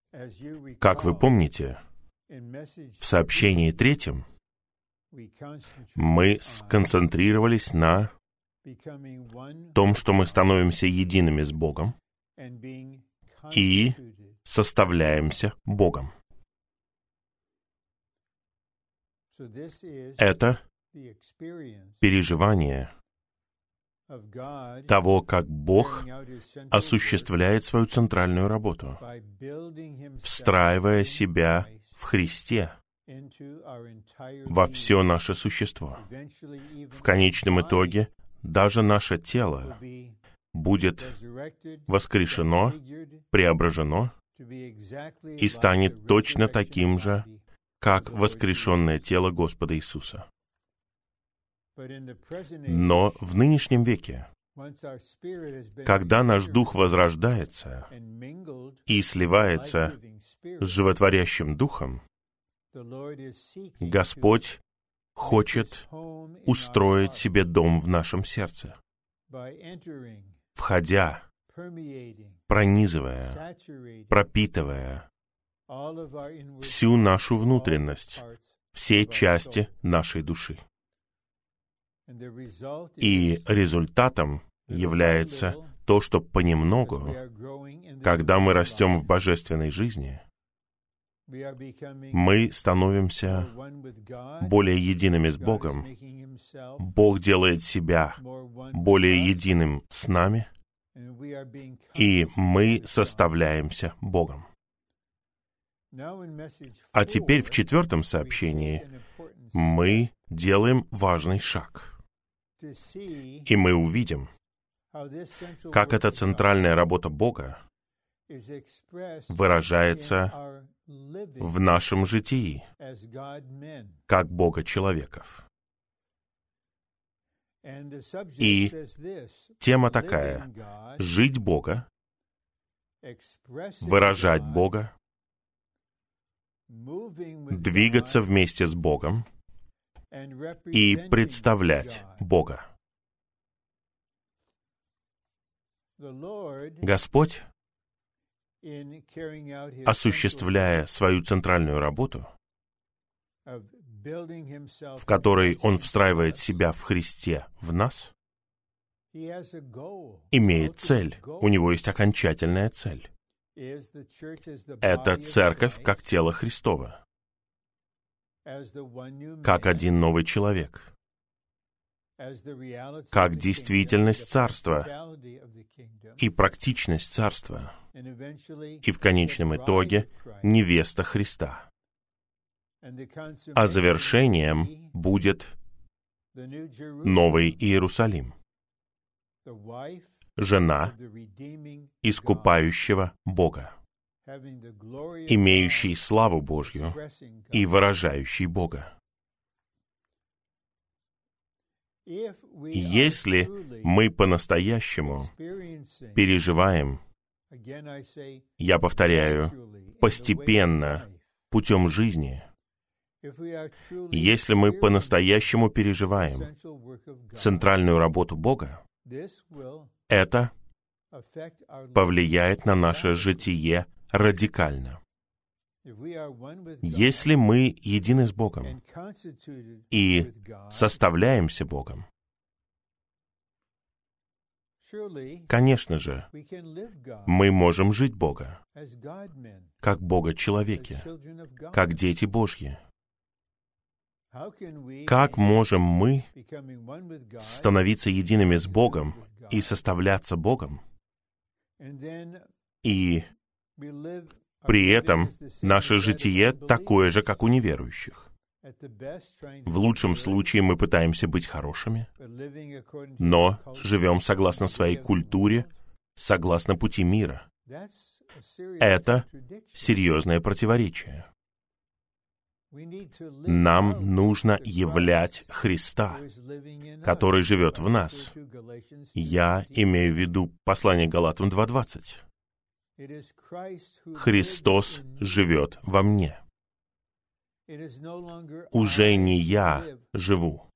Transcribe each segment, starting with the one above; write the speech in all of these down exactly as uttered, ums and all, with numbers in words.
Как вы помните, в сообщении третьем мы сконцентрировались на том, что мы становимся едиными с Богом и составляемся Богом. Это переживание того, как Бог осуществляет свою центральную работу, встраивая себя в Христе во все наше существо. В конечном итоге даже наше тело будет воскрешено, преображено и станет точно таким же, как воскрешенное тело Господа Иисуса. Но в нынешнем веке, когда наш дух возрождается и сливается с животворящим духом, Господь хочет устроить себе дом в нашем сердце, входя, пронизывая, пропитывая всю нашу внутренность, все части нашей души. И результатом является то, что понемногу, когда мы растем в божественной жизни, мы становимся более едиными с Богом. Бог делает себя более единым с нами, и мы составляемся Богом. А теперь в четвертом сообщении мы делаем важный шаг. И мы увидим, как эта центральная работа Бога выражается в нашем житии, как Бога-человеков. И тема такая — жить Бога, выражать Бога, двигаться вместе с Богом и представлять Бога. Господь, осуществляя свою центральную работу, в которой Он встраивает себя в Христе в нас, имеет цель. У Него есть окончательная цель. Это церковь как тело Христово, как один новый человек, как действительность Царства и практичность Царства, и в конечном итоге невеста Христа. А завершением будет Новый Иерусалим, жена искупающего Бога, имеющий славу Божью и выражающий Бога. Если мы по-настоящему переживаем, я повторяю, постепенно, путем жизни, если мы по-настоящему переживаем центральную работу Бога, это повлияет на наше житие радикально. Если мы едины с Богом и составляемся Богом, конечно же, мы можем жить Бога, как Бога-человеки, как дети Божьи. Как можем мы становиться едиными с Богом и составляться Богом, и при этом наше житие такое же, как у неверующих? В лучшем случае мы пытаемся быть хорошими, но живем согласно своей культуре, согласно пути мира. Это серьезное противоречие. Нам нужно являть Христа, который живет в нас. Я имею в виду послание Галатам два двадцать. Христос живет во мне. Уже не я живу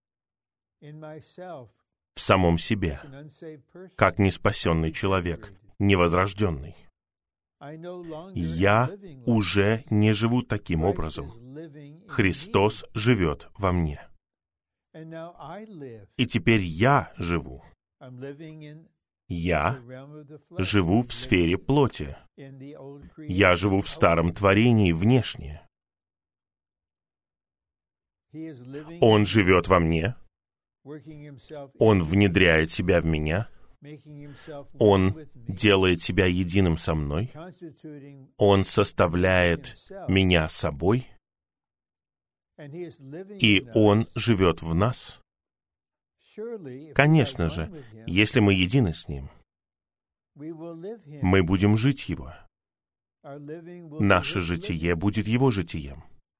в самом себе, как неспасенный человек, невозрожденный. Я уже не живу таким образом. Христос живет во мне. И теперь я живу. Я живу в сфере плоти. Я живу в старом творении внешне. Он живет во мне. Он внедряет себя в меня. Он делает себя единым со мной. Он составляет меня собой. И Он живет в нас. Конечно же, если мы едины с Ним, мы будем жить Его. Наше житие будет Его житием.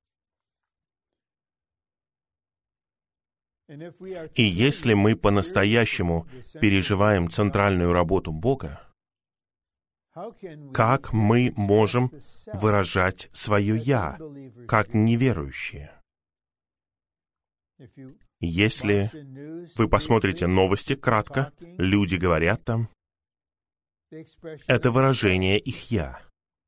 И если мы по-настоящему переживаем центральную работу Бога, как мы можем выражать свое «я», как неверующие? Если вы посмотрите новости кратко, люди говорят там, это выражение их «я».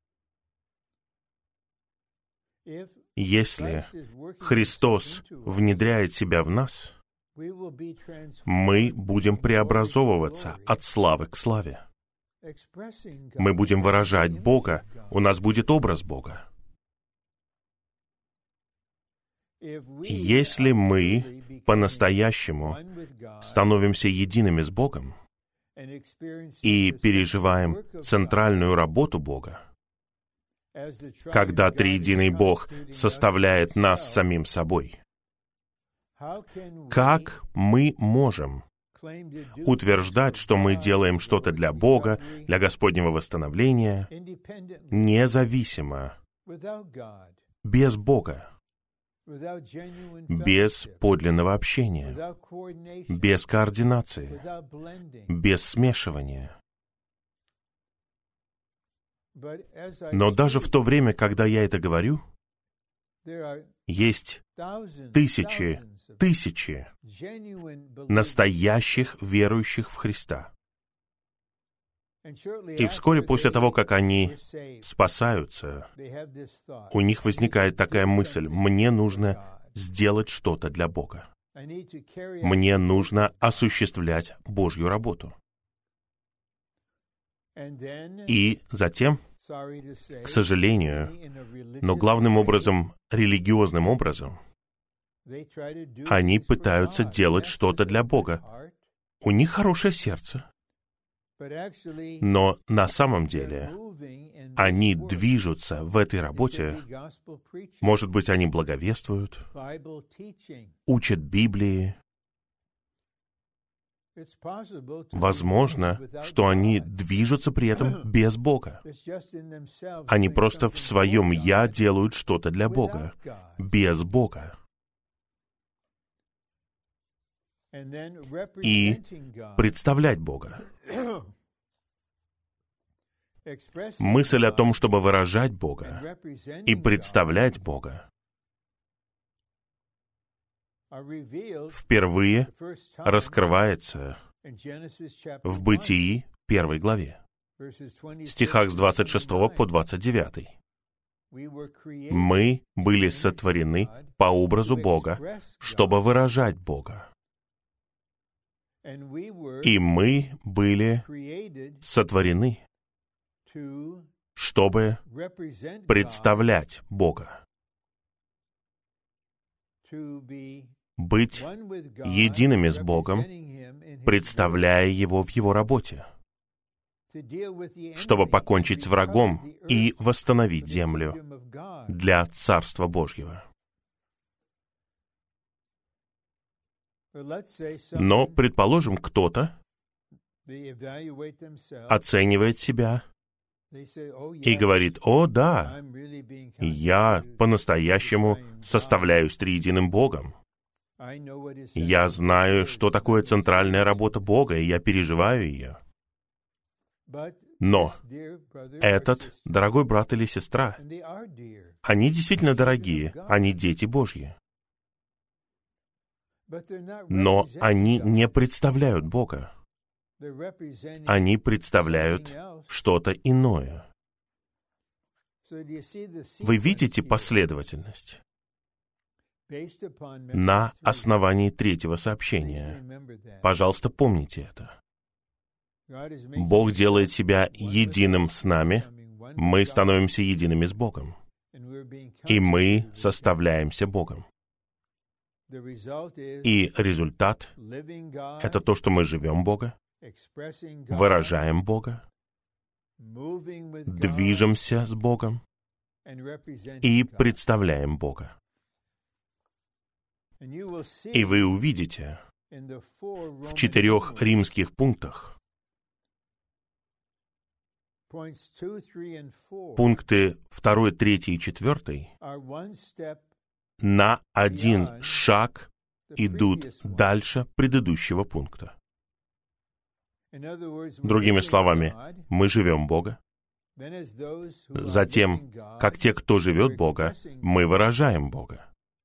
Если Христос внедряет себя в нас, мы будем преобразовываться от славы к славе. Мы будем выражать Бога, у нас будет образ Бога. Если мы по-настоящему становимся едиными с Богом и переживаем центральную работу Бога, когда триединый Бог составляет нас самим собой, как мы можем утверждать, что мы делаем что-то для Бога, для Господнего восстановления, независимо, без Бога, без подлинного общения, без координации, без смешивания? Но даже в то время, когда я это говорю, есть тысячи, тысячи настоящих верующих в Христа. И вскоре после того, как они спасаются, у них возникает такая мысль: мне нужно сделать что-то для Бога. Мне нужно осуществлять Божью работу. И затем, к сожалению, но главным образом, религиозным образом, они пытаются делать что-то для Бога. У них хорошее сердце, но на самом деле они движутся в этой работе. Может быть, они благовествуют, учат Библии. Возможно, что они движутся при этом без Бога. Они просто в своем «я» делают что-то для Бога, без Бога. И представлять Бога. Мысль о том, чтобы выражать Бога и представлять Бога, впервые раскрывается в Бытии первой главе, стихах с двадцать шестого по двадцать девятый. Мы были сотворены по образу Бога, чтобы выражать Бога. И мы были сотворены, чтобы представлять Бога. Быть едиными с Богом, представляя Его в Его работе, чтобы покончить с врагом и восстановить землю для Царства Божьего. Но, предположим, кто-то оценивает себя и говорит: «О, да, я по-настоящему составляюсь триединым Богом. Я знаю, что такое центральная работа Бога, и я переживаю ее». Но этот дорогой брат или сестра, они действительно дорогие, они дети Божьи. Но они не представляют Бога. Они представляют что-то иное. Вы видите последовательность? На основании третьего сообщения. Пожалуйста, помните это. Бог делает себя единым с нами, мы становимся едиными с Богом, и мы составляемся Богом. И результат — это то, что мы живем Бога, выражаем Бога, движемся с Богом и представляем Бога. И вы увидите в четырех римских пунктах, пункты второй, третий и четвертый на один шаг идут дальше предыдущего пункта. Другими словами, мы живем Бога. Затем, как те, кто живет Бога, мы выражаем Бога.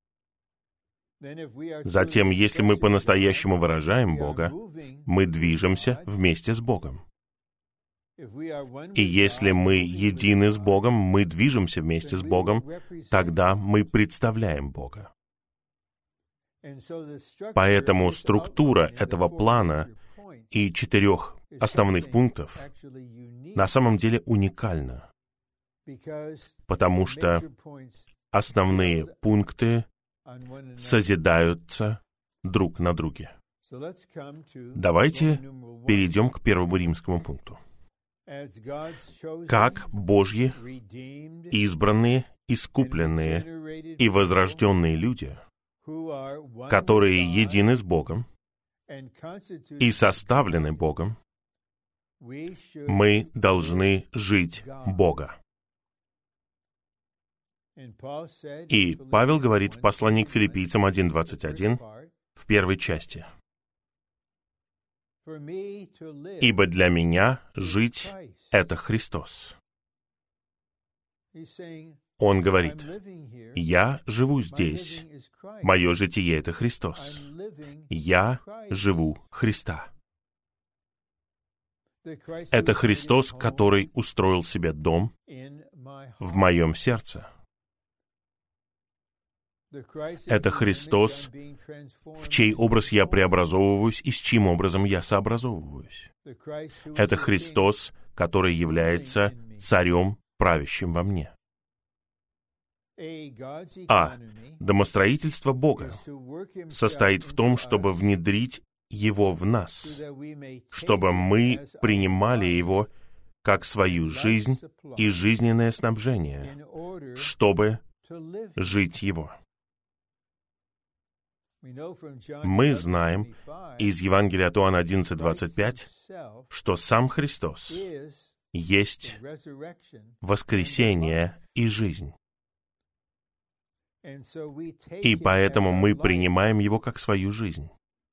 Затем, если мы по-настоящему выражаем Бога, мы движемся вместе с Богом. И если мы едины с Богом, мы движемся вместе с Богом, тогда мы представляем Бога. Поэтому структура этого плана и четырех основных пунктов на самом деле уникальна, потому что основные пункты созидаются друг на друге. Давайте перейдем к первому римскому пункту. Как Божьи, избранные, искупленные и возрожденные люди, которые едины с Богом и составлены Богом, мы должны жить Бога. И Павел говорит в послании к Филиппийцам один двадцать один в первой части: «Ибо для меня жить — это Христос». Он говорит: «Я живу здесь, мое житие — это Христос. Я живу Христа». Это Христос, который устроил себе дом в моем сердце. Это Христос, в чей образ я преобразовываюсь и с чьим образом я сообразовываюсь. Это Христос, который является царем, правящим во мне. А домостроительство Бога состоит в том, чтобы внедрить Его в нас, чтобы мы принимали Его как свою жизнь и жизненное снабжение, чтобы жить Его. Мы знаем из Евангелия от Иоанна одиннадцать двадцать пять, что сам Христос есть воскресение и жизнь. И поэтому мы принимаем Его как свою жизнь.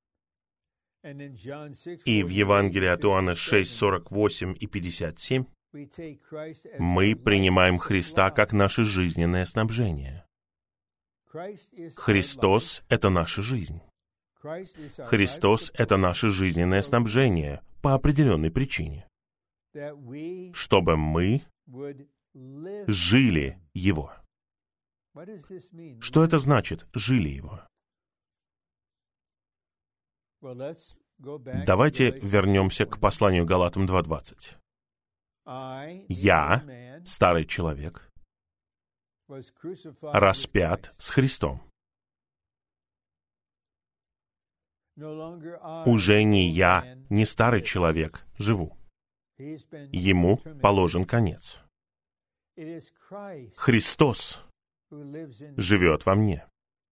И в Евангелии от Иоанна шесть сорок восемь и пятьдесят семь мы принимаем Христа как наше жизненное снабжение. Христос — это наша жизнь. Христос — это наше жизненное снабжение по определенной причине, чтобы мы жили Его. Что это значит — жили Его? Давайте вернемся к посланию Галатам два двадцать. «Я, старый человек, распят с Христом. Уже не я, не старый человек, живу. Ему положен конец. Христос живет во мне.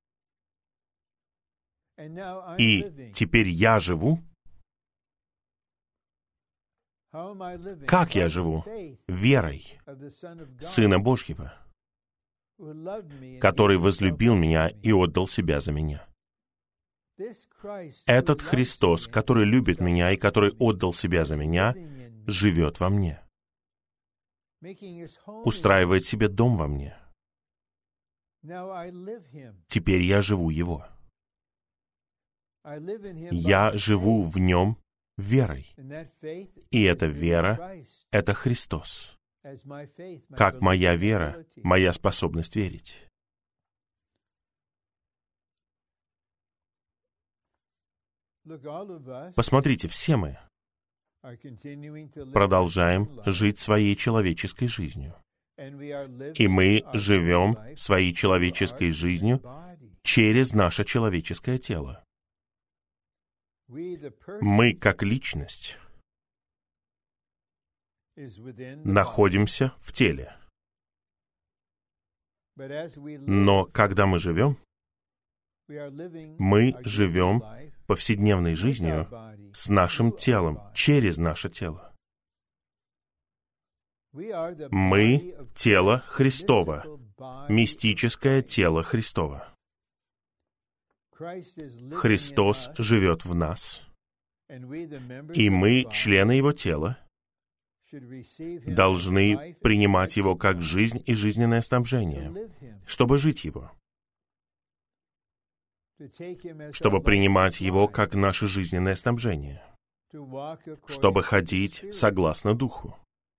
И теперь я живу. Как я живу? Верой Сына Божьего, который возлюбил меня и отдал себя за меня. Этот Христос, который любит меня и который отдал себя за меня, живет во мне, устраивает себе дом во мне. Теперь я живу Его. Я живу в Нем верой. И эта вера — это Христос. как моя вера, моя способность верить. Посмотрите, все мы продолжаем жить своей человеческой жизнью. И мы живем своей человеческой жизнью через наше человеческое тело. Мы, как личность, находимся в теле. Но когда мы живем, мы живем повседневной жизнью с нашим телом, через наше тело. Мы — тело Христово, мистическое тело Христово. Христос живет в нас, и мы, члены Его тела, должны принимать Его как жизнь и жизненное снабжение, чтобы жить Его, чтобы принимать Его как наше жизненное снабжение, чтобы ходить согласно Духу.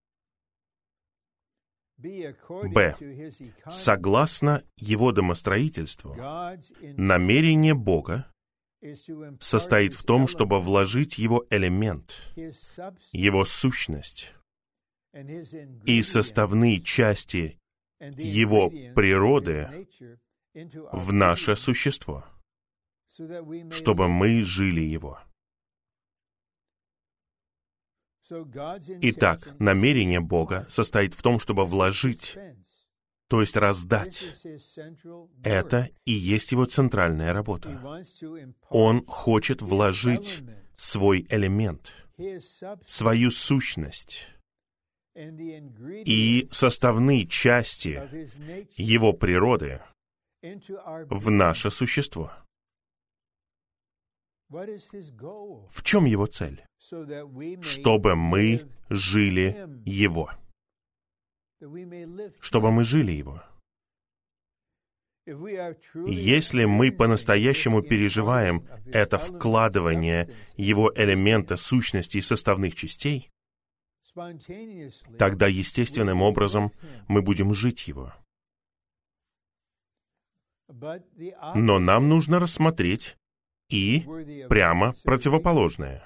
Б. Согласно Его домостроительству, намерение Бога состоит в том, чтобы вложить Его элемент, Его сущность и составные части Его природы в наше существо, чтобы мы жили Его. Итак, намерение Бога состоит в том, чтобы вложить, то есть раздать. Это и есть Его центральная работа. Он хочет вложить свой элемент, свою сущность и составные части Его природы в наше существо. В чем Его цель? Чтобы мы жили Его. Чтобы мы жили Его. Если мы по-настоящему переживаем это вкладывание Его элемента, сущности и составных частей, тогда естественным образом мы будем жить Его. Но нам нужно рассмотреть и прямо противоположное.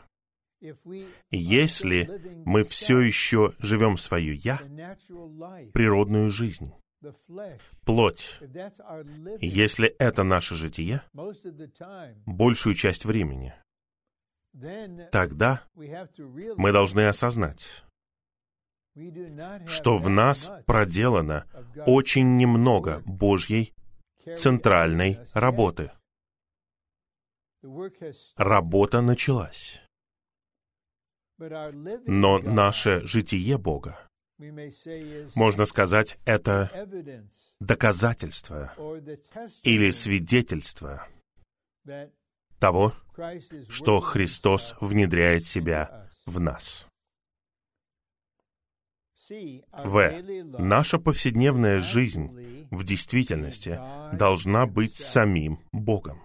Если мы все еще живем свою «я», природную жизнь, плоть, если это наше житие, большую часть времени, тогда мы должны осознать, что в нас проделано очень немного Божьей центральной работы. Работа началась. Но наше житие Бога, можно сказать, это доказательство или свидетельство того, что Христос внедряет себя в нас. В. Наша повседневная жизнь в действительности должна быть самим Богом.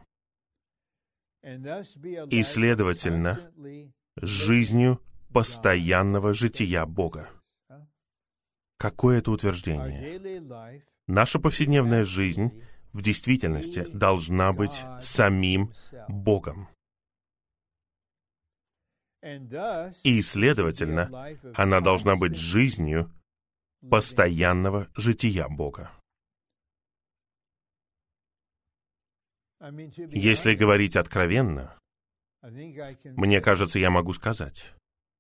И, следовательно, жизнью постоянного жития Бога. Какое это утверждение? Наша повседневная жизнь в действительности должна быть самим Богом. И, следовательно, она должна быть жизнью постоянного жития Бога. Если говорить откровенно, мне кажется, я могу сказать,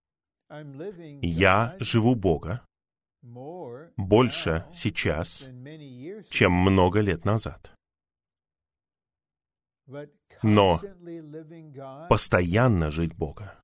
я живу Бога больше сейчас, чем много лет назад. Но постоянно жить Бога,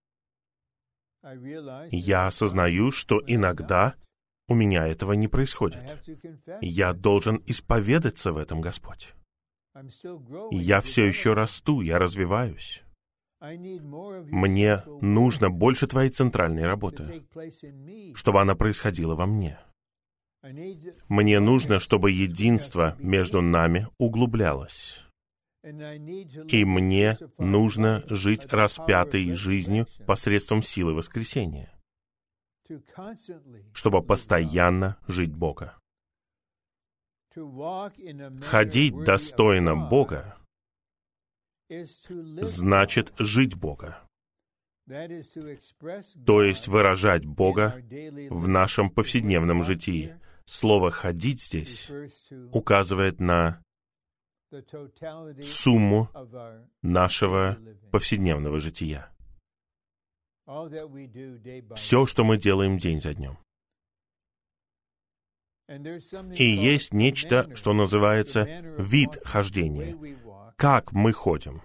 я осознаю, что иногда у меня этого не происходит. Я должен исповедаться в этом, Господь. Я все еще расту, я развиваюсь. Мне нужно больше Твоей центральной работы, чтобы она происходила во мне. Мне нужно, чтобы единство между нами углублялось. И мне нужно жить распятой жизнью посредством силы воскресения. чтобы постоянно жить Бога. Ходить достойно Бога значит жить Бога, то есть выражать Бога в нашем повседневном житии. Слово «ходить» здесь указывает на сумму нашего повседневного жития. Все, что мы делаем день за днем. И есть нечто, что называется вид хождения. Как мы ходим?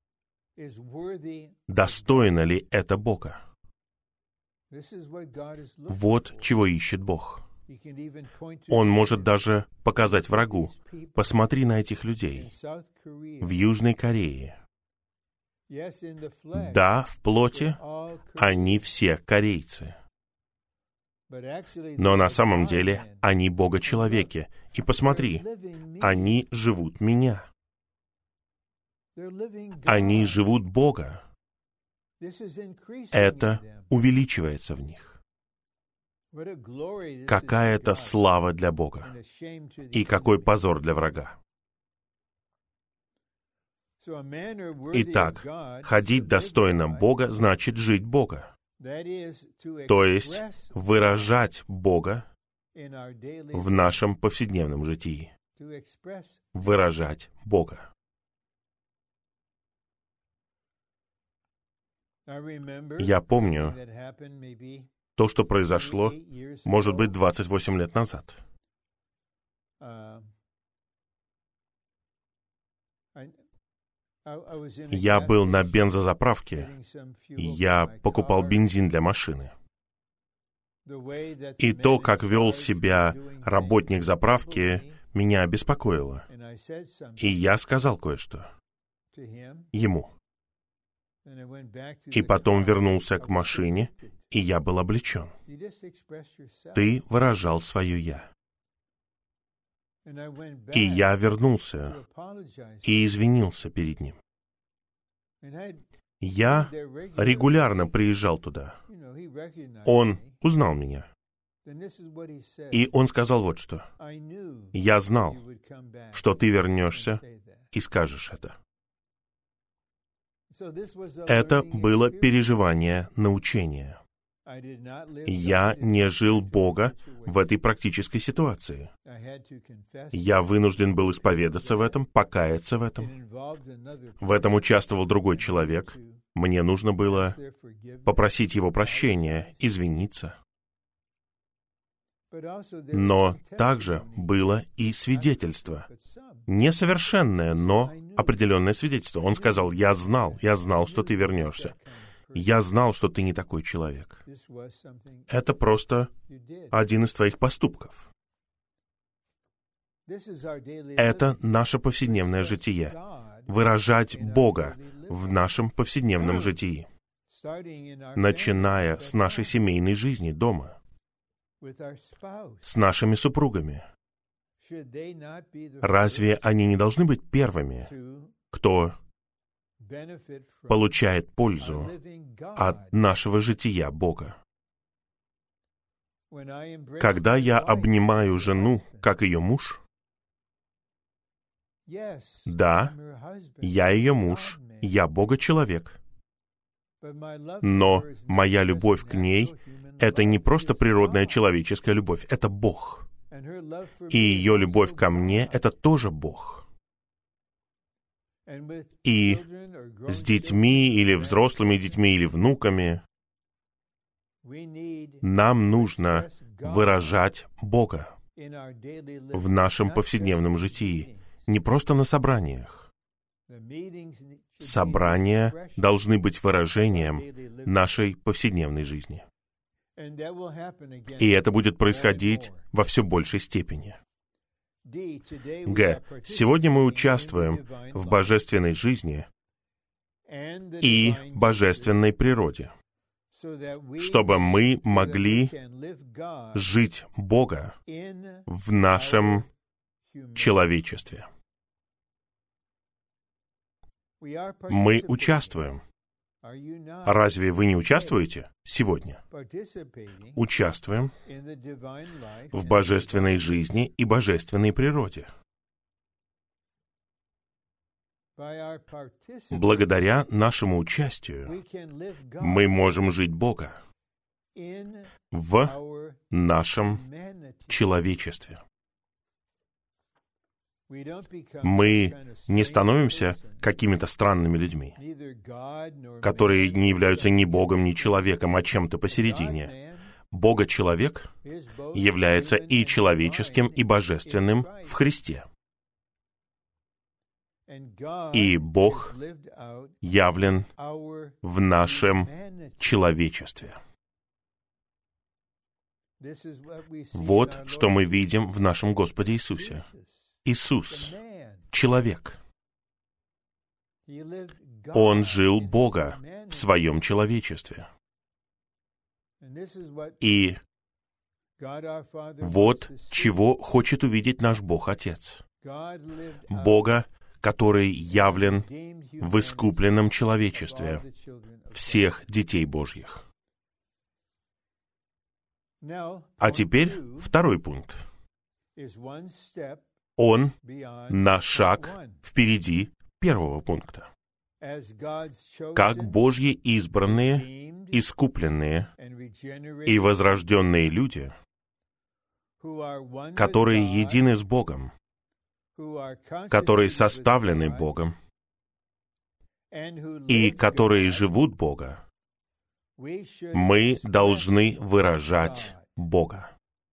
Достойно ли это Бога? Вот чего ищет Бог. Он может даже показать врагу: посмотри на этих людей в Южной Корее. Да, в плоти они все корейцы. Но на самом деле они Бога-человеки. И посмотри, они живут меня. Они живут Бога. Это увеличивается в них. Какая-то слава для Бога. И какой позор для врага. Итак, ходить достойно Бога значит жить Бога. То есть выражать Бога в нашем повседневном житии. Выражать Бога. Я помню то, что произошло, может быть, двадцать восемь лет назад. Я был на бензозаправке, я покупал бензин для машины. И то, как вел себя работник заправки, меня обеспокоило. И я сказал кое-что ему. И потом вернулся к машине, и я был облечен. Ты выражал свое «я». И я вернулся и извинился перед ним. Я регулярно приезжал туда. Он узнал меня. И он сказал вот что. Я знал, что ты вернешься и скажешь это. Это было переживание научения. Я не жил Бога в этой практической ситуации. Я вынужден был исповедаться в этом, покаяться в этом. В этом участвовал другой человек. Мне нужно было попросить его прощения, извиниться. Но также было и свидетельство. Несовершенное, но определенное свидетельство. Он сказал: «Я знал, я знал, что ты вернешься. Я знал, что ты не такой человек. Это просто один из твоих поступков». Это наше повседневное житие. Выражать Бога в нашем повседневном житии. Начиная с нашей семейной жизни дома. С нашими супругами. Разве они не должны быть первыми, кто получает пользу от нашего жития Бога? Когда я обнимаю жену, как ее муж, да, я ее муж, я Бога-человек, но моя любовь к ней — это не просто природная человеческая любовь, это Бог. И ее любовь ко мне — это тоже Бог. И с детьми, или взрослыми детьми, или внуками нам нужно выражать Бога в нашем повседневном житии, не просто на собраниях. Собрания должны быть выражением нашей повседневной жизни. И это будет происходить во все большей степени. Г. Сегодня мы участвуем в божественной жизни и божественной природе, чтобы мы могли жить Бога в нашем человечестве. Мы участвуем Разве вы не участвуете сегодня? Участвуем в божественной жизни и божественной природе. Благодаря нашему участию мы можем жить Бога в нашем человечестве. Мы не становимся какими-то странными людьми, которые не являются ни Богом, ни человеком, а чем-то посередине. Бога-человек является и человеческим, и божественным в Христе. И Бог явлен в нашем человечестве. Вот что мы видим в нашем Господе Иисусе. Иисус — человек. Он жил Бога в своем человечестве. И вот чего хочет увидеть наш Бог-Отец. Бога, который явлен в искупленном человечестве всех детей Божьих. А теперь второй пункт. Он на шаг впереди первого пункта. Как Божьи избранные, искупленные и возрожденные люди, которые едины с Богом, которые составлены Богом и которые живут Бога, мы должны выражать Бога.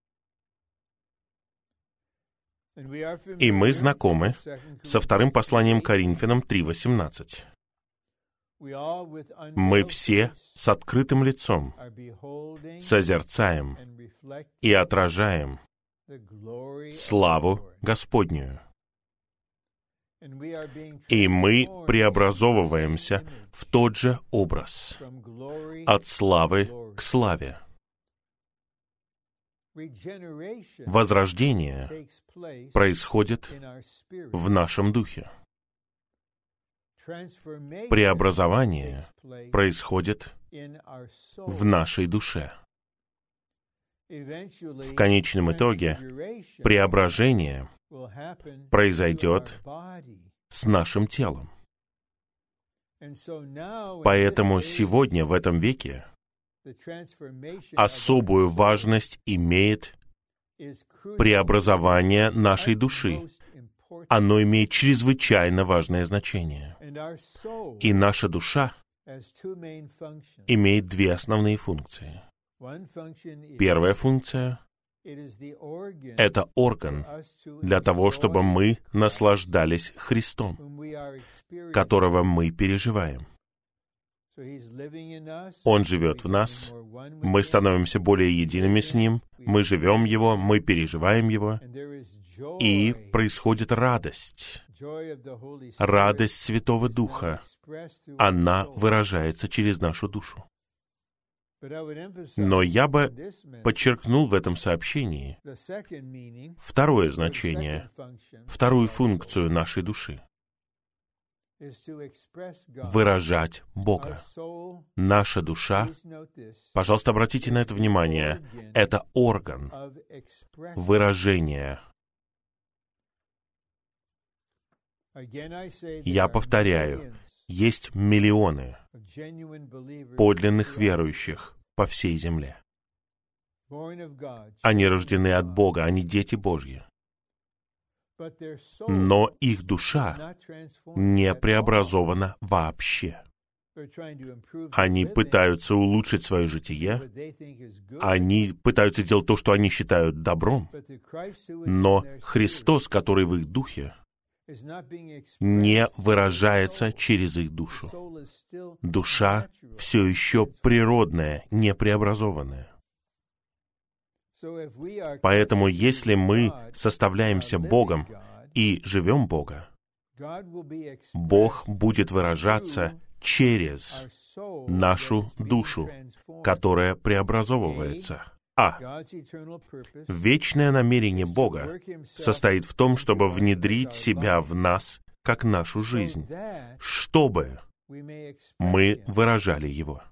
И мы знакомы со вторым посланием Коринфянам три восемнадцать. Мы все с открытым лицом созерцаем и отражаем славу Господнюю. И мы преобразовываемся в тот же образ, от славы к славе. Возрождение происходит в нашем духе. Преобразование происходит в нашей душе. В конечном итоге преображение произойдет с нашим телом. Поэтому сегодня, в этом веке, особую важность имеет преобразование нашей души. Оно имеет чрезвычайно важное значение. И наша душа имеет две основные функции. Первая функция — это орган для того, чтобы мы наслаждались Христом, которого мы переживаем. Он живет в нас, мы становимся более едиными с Ним, мы живем Его, мы переживаем Его, и происходит радость. Радость Святого Духа. Она выражается через нашу душу. Но я бы подчеркнул в этом сообщении второе значение, вторую функцию нашей души. Выражать Бога. Наша душа, пожалуйста, обратите на это внимание, это орган выражения. Я повторяю, есть миллионы подлинных верующих по всей земле. Они рождены от Бога, они дети Божьи. Но их душа не преобразована вообще. Они пытаются улучшить свое житие, они пытаются делать то, что они считают добром, но Христос, который в их духе, не выражается через их душу. Душа все еще природная, не преобразованная. Поэтому, если мы составляемся Богом и живем Бога, Бог будет выражаться через нашу душу, которая преобразовывается. А. Вечное намерение Бога состоит в том, чтобы внедрить себя в нас, как нашу жизнь, чтобы мы выражали Его.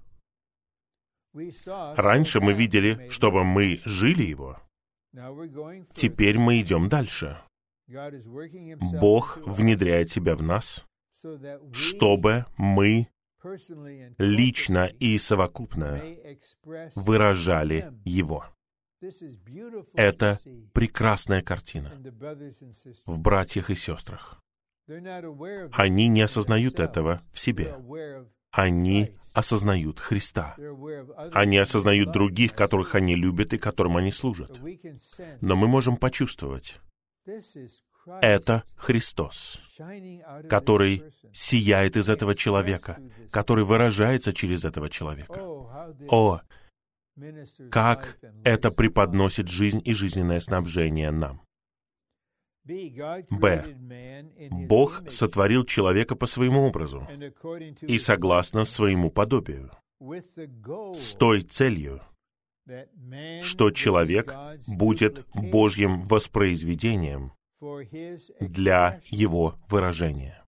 Раньше мы видели, чтобы мы жили Его. Теперь мы идем дальше. Бог внедряет себя в нас, чтобы мы лично и совокупно выражали Его. Это прекрасная картина в братьях и сестрах. Они не осознают этого в себе. Они осознают Христа. Они осознают других, которых они любят и которым они служат. Но мы можем почувствовать, это Христос, который сияет из этого человека, который выражается через этого человека. О, как это преподносит жизнь и жизненное снабжение нам. Б. Бог сотворил человека по своему образу и согласно своему подобию, с той целью, что человек будет Божьим воспроизведением для его выражения.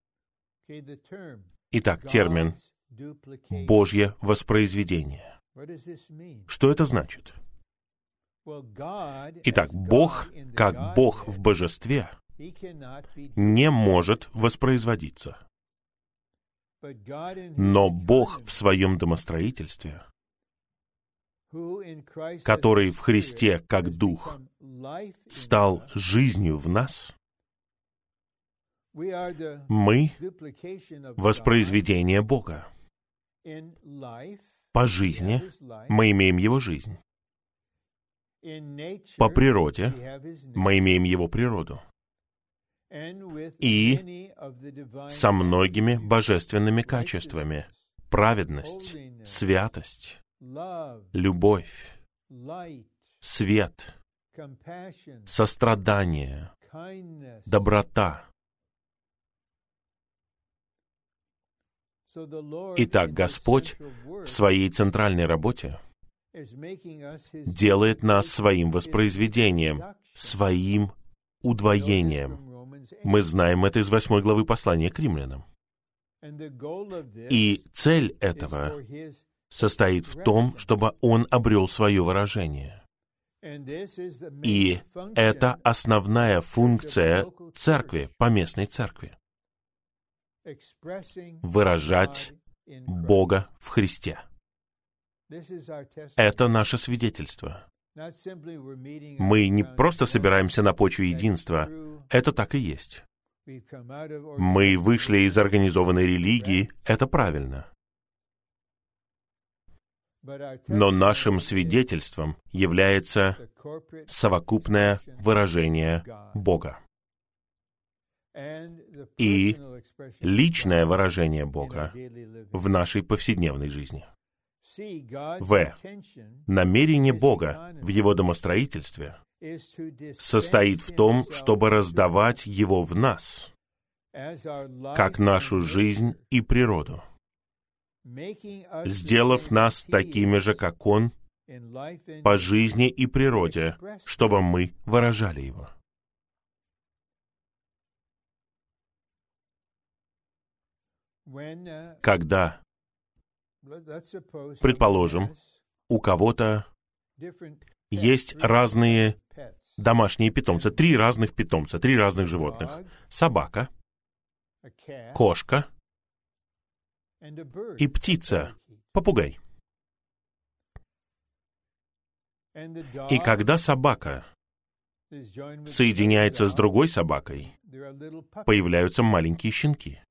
Итак, термин «Божье воспроизведение». Что это значит? Итак, Бог, как Бог в божестве, не может воспроизводиться. Но Бог в своем домостроительстве, который в Христе как Дух стал жизнью в нас, мы — воспроизведение Бога. По жизни мы имеем Его жизнь. По природе мы имеем Его природу. И со многими божественными качествами: праведность, святость, любовь, свет, сострадание, доброта. Итак, Господь в своей центральной работе делает нас своим воспроизведением, своим удвоением. Мы знаем это из восьмой главы послания к римлянам. И цель этого состоит в том, чтобы Он обрел свое выражение. И это основная функция церкви, поместной церкви. Выражать Бога в Христе. Это наше свидетельство. Мы не просто собираемся на почве единства. Это так и есть. Мы вышли из организованной религии. Это правильно. Но нашим свидетельством является совокупное выражение Бога. И личное выражение Бога в нашей повседневной жизни. В. Намерение Бога в Его домостроительстве состоит в том, чтобы раздавать Его в нас, как нашу жизнь и природу, сделав нас такими же, как Он, по жизни и природе, чтобы мы выражали Его. Когда, предположим, у кого-то есть разные домашние питомцы, три разных питомца, три разных животных. Собака, кошка и птица, попугай. И когда собака соединяется с другой собакой, появляются маленькие щенки.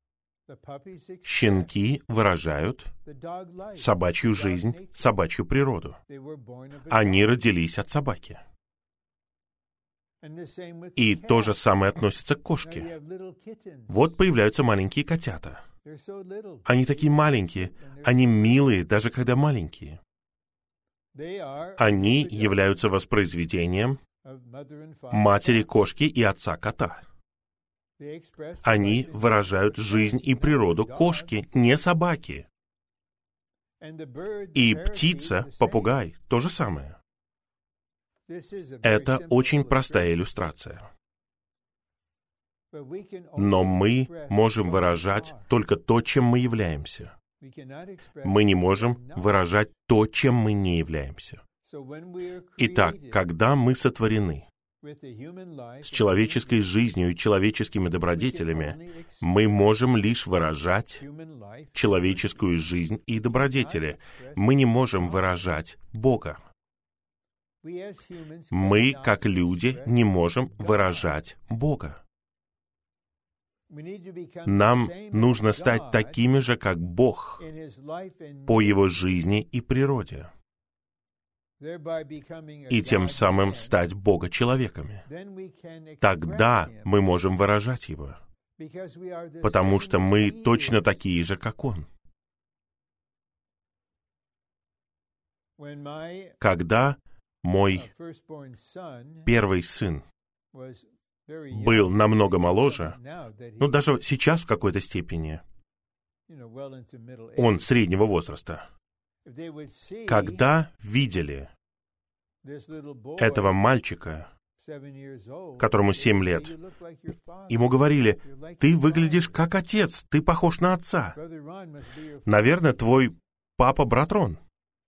Щенки выражают собачью жизнь, собачью природу. Они родились от собаки. И то же самое относится к кошке. Вот появляются маленькие котята. Они такие маленькие, они милые, даже когда маленькие. Они являются воспроизведением матери кошки и отца кота. Они выражают жизнь и природу кошки, не собаки. И птица, попугай, то же самое. Это очень простая иллюстрация. Но мы можем выражать только то, чем мы являемся. Мы не можем выражать то, чем мы не являемся. Итак, когда мы сотворены с человеческой жизнью и человеческими добродетелями, мы можем лишь выражать человеческую жизнь и добродетели. Мы не можем выражать Бога. Мы, как люди, не можем выражать Бога. Нам нужно стать такими же, как Бог, по Его жизни и природе, и тем самым стать Бога-человеками. Тогда мы можем выражать Его, потому что мы точно такие же, как Он. Когда мой первый сын был намного моложе, ну, даже сейчас в какой-то степени, он среднего возраста, когда видели этого мальчика, которому семь лет, ему говорили: «Ты выглядишь как отец, ты похож на отца. Наверное, твой папа брат Рон».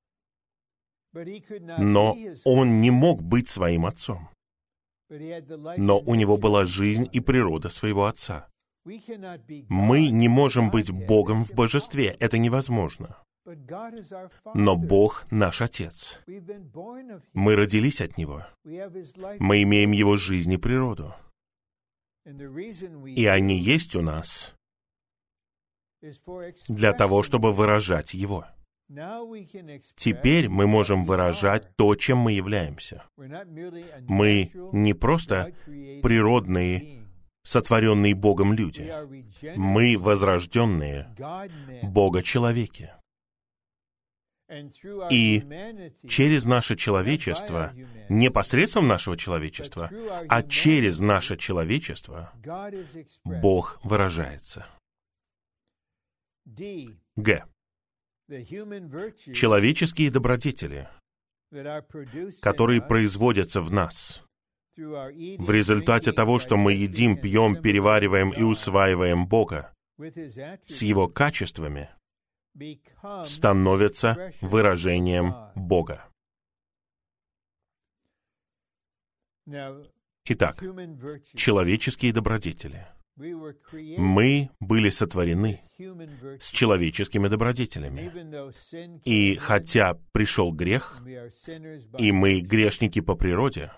Но он не мог быть своим отцом. Но у него была жизнь и природа своего отца. Мы не можем быть Богом в божестве, это невозможно. Но Бог наш Отец. Мы родились от Него. Мы имеем Его жизнь и природу. И они есть у нас для того, чтобы выражать Его. Теперь мы можем выражать то, чем мы являемся. Мы не просто природные, сотворенные Богом люди. Мы возрожденные Бога-человеки. И через наше человечество, не посредством нашего человечества, а через наше человечество, Бог выражается. Г. Человеческие добродетели, которые производятся в нас в результате того, что мы едим, пьем, перевариваем и усваиваем Бога с Его качествами, становятся выражением Бога. Итак, человеческие добродетели. Мы были сотворены с человеческими добродетелями. И хотя пришел грех, и мы грешники по природе,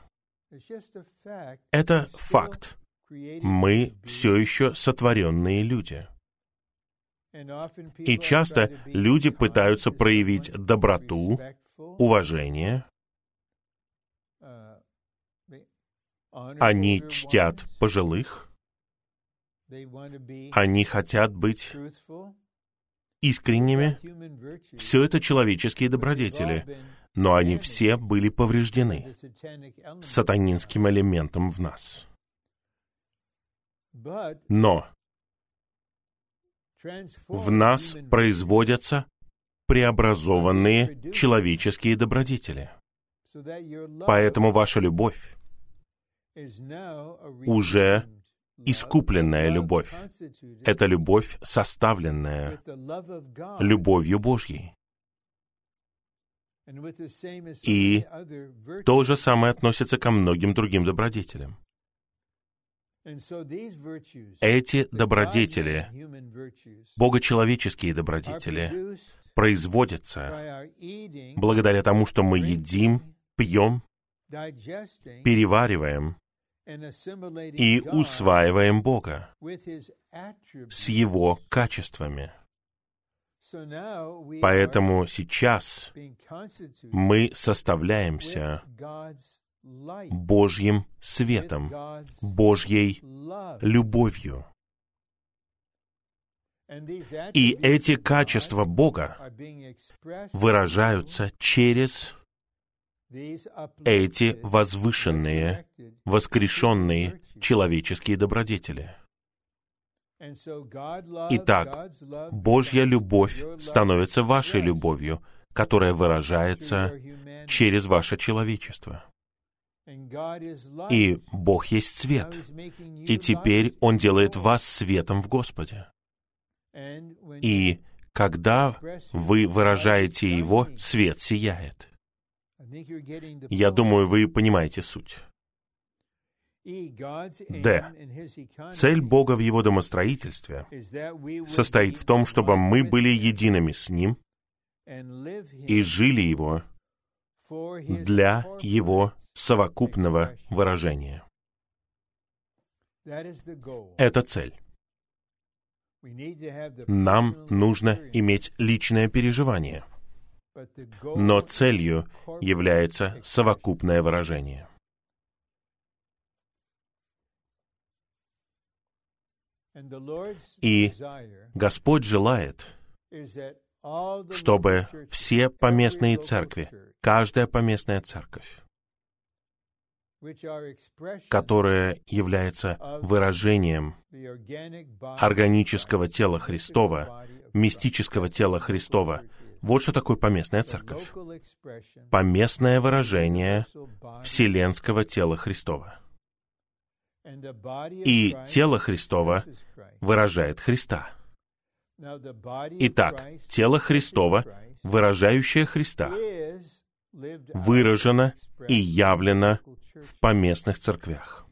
это факт. Мы все еще сотворенные люди. И часто люди пытаются проявить доброту, уважение. Они чтят пожилых. Они хотят быть искренними. Все это человеческие добродетели, но они все были повреждены сатанинским элементом в нас. Но в нас производятся преобразованные человеческие добродетели. Поэтому ваша любовь уже искупленная любовь. Это любовь, составленная любовью Божьей. И то же самое относится ко многим другим добродетелям. Эти добродетели, богочеловеческие добродетели, производятся благодаря тому, что мы едим, пьем, перевариваем и усваиваем Бога с Его качествами. Поэтому сейчас мы составляемся Божьим светом, Божьей любовью. И эти качества Бога выражаются через эти возвышенные, воскрешенные человеческие добродетели. Итак, Божья любовь становится вашей любовью, которая выражается через ваше человечество. И Бог есть свет. И теперь Он делает вас светом в Господе. И когда вы выражаете Его, свет сияет. Я думаю, вы понимаете суть. Д. Цель Бога в Его домостроительстве состоит в том, чтобы мы были едиными с Ним и жили Его для Его совокупного выражения. Это цель. Нам нужно иметь личное переживание, но целью является совокупное выражение. И Господь желает, чтобы все поместные церкви, каждая поместная церковь, которая является выражением органического тела Христова, мистического тела Христова. Вот что такое поместная церковь. Поместное выражение вселенского тела Христова. И тело Христово выражает Христа. Итак, тело Христово, выражающее Христа, выражено и явлено в поместных церквях.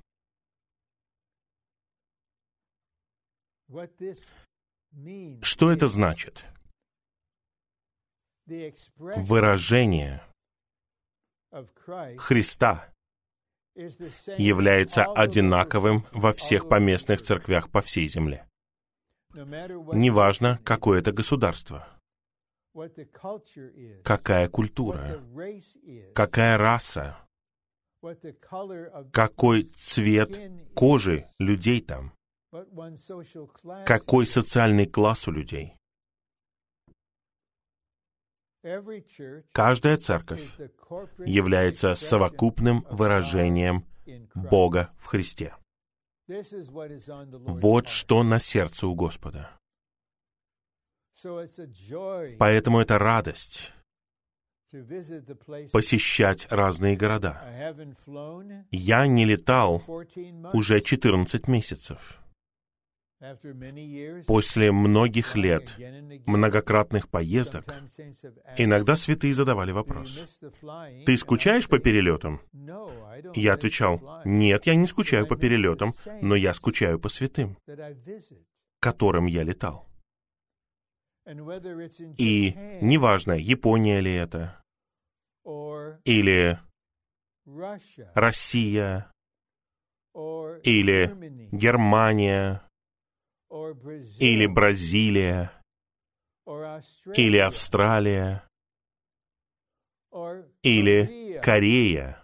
Что это значит? Выражение Христа является одинаковым во всех поместных церквях по всей земле. Неважно, какое это государство, какая культура, какая раса, какой цвет кожи людей там, какой социальный класс у людей. Каждая церковь является совокупным выражением Бога в Христе. Вот что на сердце у Господа. Поэтому это радость посещать разные города. Я не летал уже четырнадцать месяцев. После многих лет многократных поездок иногда святые задавали вопрос: «Ты скучаешь по перелетам?» Я отвечал: «Нет, я не скучаю по перелетам, но я скучаю по святым, к которым я летал». И неважно, Япония ли это, или Россия, или Германия, или Бразилия, или Австралия, или Корея.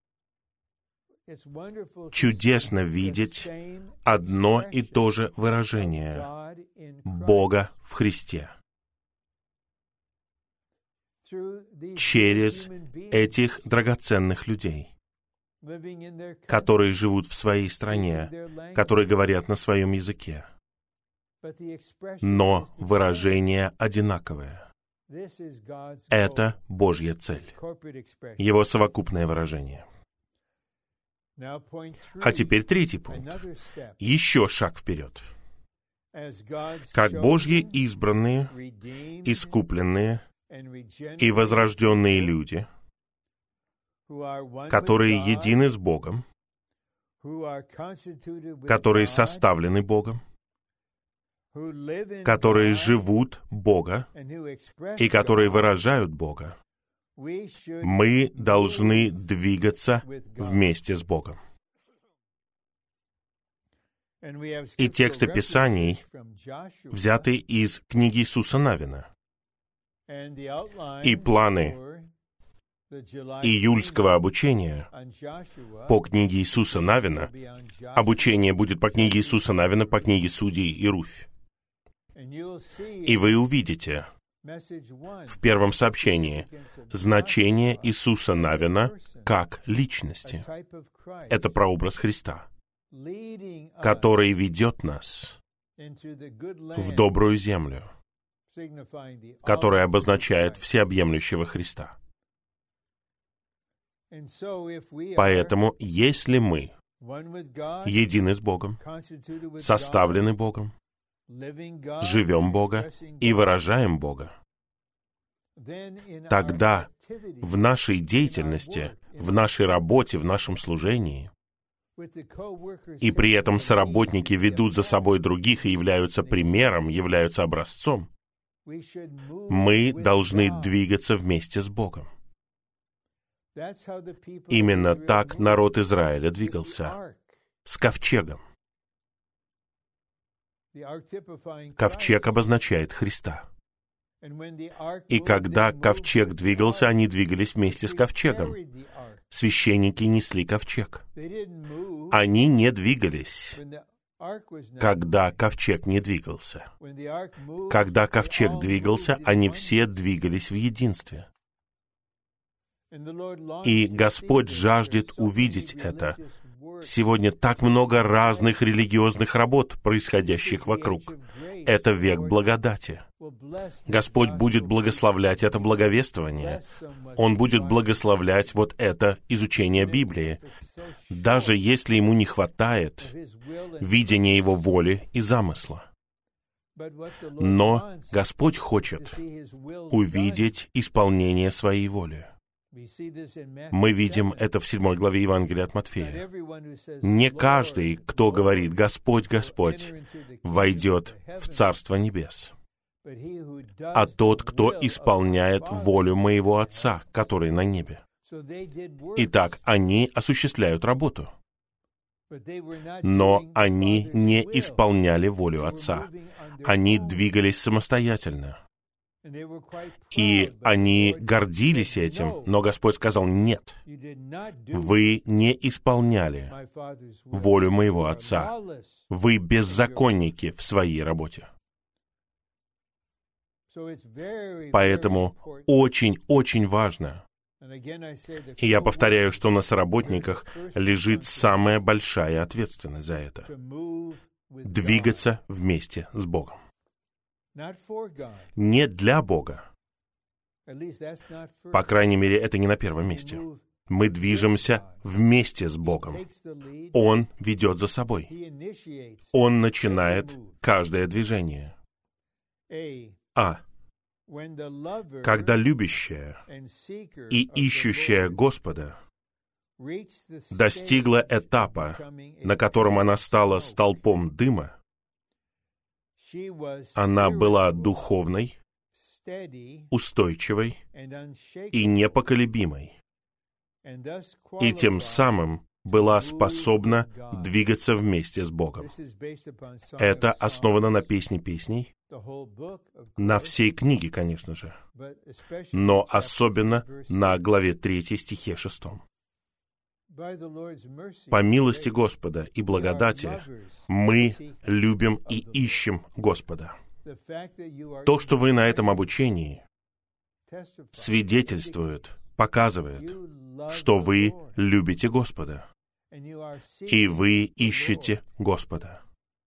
Чудесно видеть одно и то же выражение Бога в Христе через этих драгоценных людей, которые живут в своей стране, которые говорят на своем языке, но выражение одинаковое. Это Божья цель, Его совокупное выражение. А теперь третий пункт. Еще шаг вперед. Как Божьи избранные, искупленные и возрожденные люди, которые едины с Богом, которые составлены Богом, которые живут Бога и которые выражают Бога, мы должны двигаться вместе с Богом. И тексты Писаний взяты из книги Иисуса Навина. И планы июльского обучения по книге Иисуса Навина, обучение будет по книге Иисуса Навина, по книге Судей и Руфь. И вы увидите в первом сообщении значение Иисуса Навина как личности. Это прообраз Христа, который ведет нас в добрую землю, которая обозначает всеобъемлющего Христа. Поэтому, если мы едины с Богом, составлены Богом, живем Бога и выражаем Бога, тогда в нашей деятельности, в нашей работе, в нашем служении, и при этом соработники ведут за собой других и являются примером, являются образцом, мы должны двигаться вместе с Богом. Именно так народ Израиля двигался, с ковчегом. Ковчег обозначает Христа. И когда ковчег двигался, они двигались вместе с ковчегом. Священники несли ковчег. Они не двигались, когда ковчег не двигался. Когда ковчег двигался, они все двигались в единстве. И Господь жаждет увидеть это. Сегодня так много разных религиозных работ, происходящих вокруг. Это век благодати. Господь будет благословлять это благовествование. Он будет благословлять вот это изучение Библии, даже если ему не хватает видения Его воли и замысла. Но Господь хочет увидеть исполнение Своей воли. Мы видим это в седьмой главе Евангелия от Матфея. Не каждый, кто говорит «Господь, Господь», войдет в Царство Небес, а тот, кто исполняет волю моего Отца, который на небе. Итак, они осуществляют работу, но они не исполняли волю Отца. Они двигались самостоятельно. И они гордились этим, но Господь сказал: «Нет, вы не исполняли волю моего Отца. Вы беззаконники в своей работе». Поэтому очень-очень важно, и я повторяю, что на соработниках лежит самая большая ответственность за это — двигаться вместе с Богом. Не для Бога. По крайней мере, это не на первом месте. Мы движемся вместе с Богом. Он ведет за собой. Он начинает каждое движение. А. Когда любящая и ищущая Господа достигла этапа, на котором она стала столпом дыма, она была духовной, устойчивой и непоколебимой, и тем самым была способна двигаться вместе с Богом. Это основано на Песне песней, на всей книге, конечно же, но особенно на главе третьей, стихе шестом. По милости Господа и благодати мы любим и ищем Господа. То, что вы на этом обучении, свидетельствует, показывает, что вы любите Господа, и вы ищете Господа.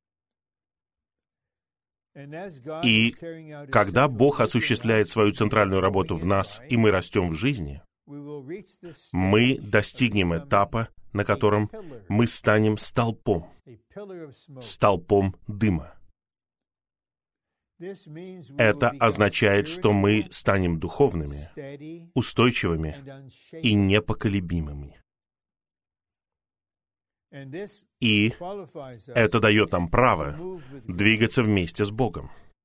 И когда Бог осуществляет свою центральную работу в нас, и мы растем в жизни, мы достигнем этапа, на котором мы станем столпом, столпом дыма. Это означает, что мы станем духовными, устойчивыми и непоколебимыми. И это дает нам право двигаться вместе с Богом.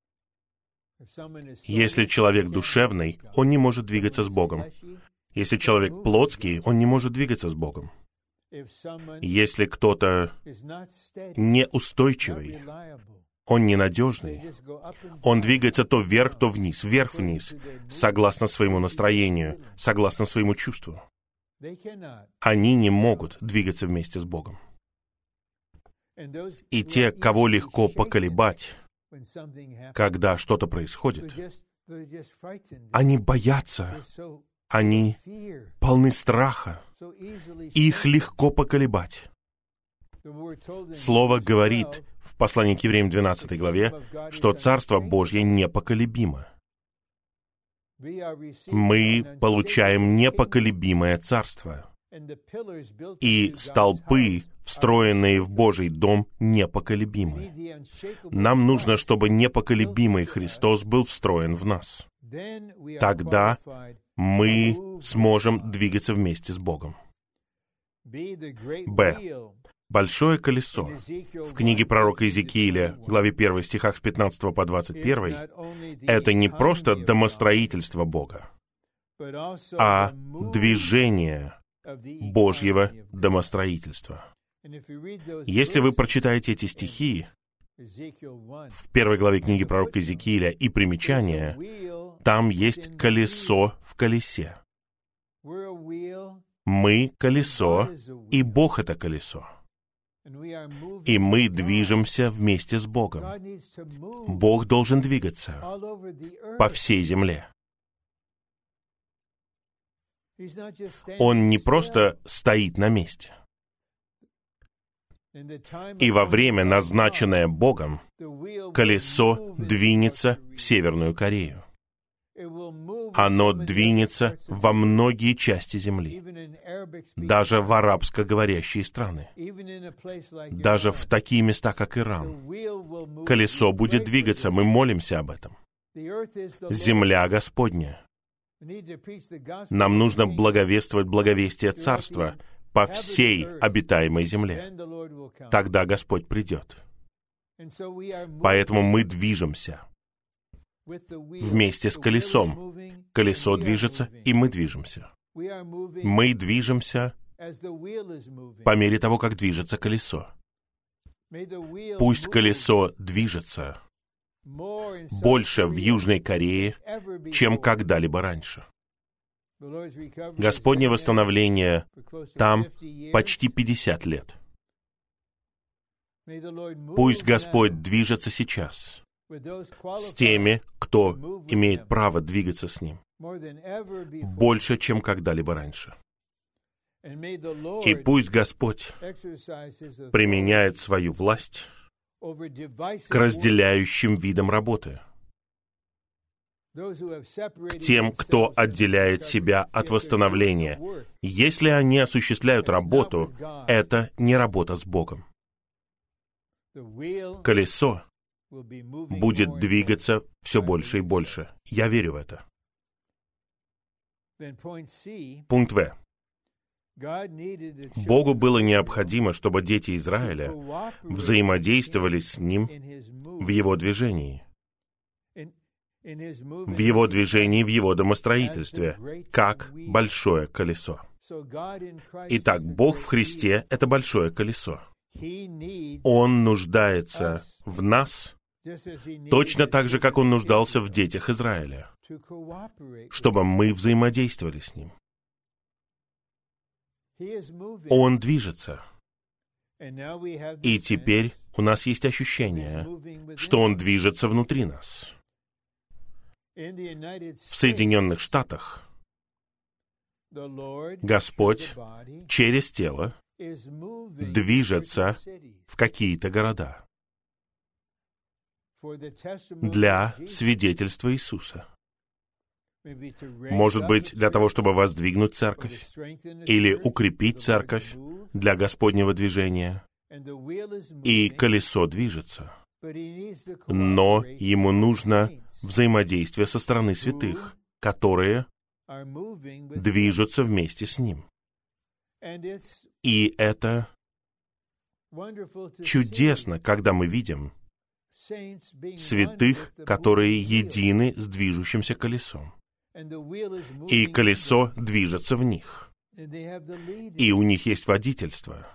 Если человек душевный, он не может двигаться с Богом. Если человек плотский, он не может двигаться с Богом. Если кто-то неустойчивый, он ненадежный, он двигается то вверх, то вниз, вверх-вниз, согласно своему настроению, согласно своему чувству. Они не могут двигаться вместе с Богом. И те, кого легко поколебать, когда что-то происходит, они боятся, они полны страха, их легко поколебать. Слово говорит в послании к Евреям двенадцатой главе, что Царство Божье непоколебимо. Мы получаем непоколебимое царство, и столпы, встроенные в Божий дом, непоколебимы. Нам нужно, чтобы непоколебимый Христос был встроен в нас. Тогда мы сможем двигаться вместе с Богом. Б. Большое колесо. В книге пророка Иезекииля, главе первой, стихах с пятнадцатого по двадцать первый, это не просто домостроительство Бога, а движение Божьего домостроительства. Если вы прочитаете эти стихи в первой главе книги пророка Иезекииля и примечания, там есть колесо в колесе. Мы — колесо, и Бог — это колесо. И мы движемся вместе с Богом. Бог должен двигаться по всей земле. Он не просто стоит на месте. И во время, назначенное Богом, колесо двинется в Северную Корею. Оно двинется во многие части земли, даже в арабскоговорящие страны, даже в такие места, как Иран. Колесо будет двигаться, мы молимся об этом. Земля Господня. Нам нужно благовествовать благовестие Царства по всей обитаемой земле. Тогда Господь придет. Поэтому мы движемся вместе с колесом. Колесо движется, и мы движемся. Мы движемся по мере того, как движется колесо. Пусть колесо движется больше в Южной Корее, чем когда-либо раньше. Господне восстановление там почти пятьдесят лет. Пусть Господь движется сейчас с теми, кто имеет право двигаться с Ним, больше, чем когда-либо раньше. И пусть Господь применяет свою власть к разделяющим видам работы, к тем, кто отделяет себя от восстановления. Если они осуществляют работу, это не работа с Богом. Колесо будет двигаться все больше и больше. Я верю в это. Пункт В. Богу было необходимо, чтобы дети Израиля взаимодействовали с Ним в Его движении. В Его движении, в Его домостроительстве, как большое колесо. Итак, Бог в Христе — это большое колесо. Он нуждается в нас точно так же, как Он нуждался в детях Израиля, чтобы мы взаимодействовали с Ним. Он движется. И теперь у нас есть ощущение, что Он движется внутри нас. В Соединенных Штатах Господь через тело движется в какие-то города для свидетельства Иисуса. Может быть, для того, чтобы воздвигнуть церковь или укрепить церковь для Господнего движения. И колесо движется. Но ему нужно взаимодействие со стороны святых, которые движутся вместе с ним. И это чудесно, когда мы видим святых, которые едины с движущимся колесом. И колесо движется в них. И у них есть водительство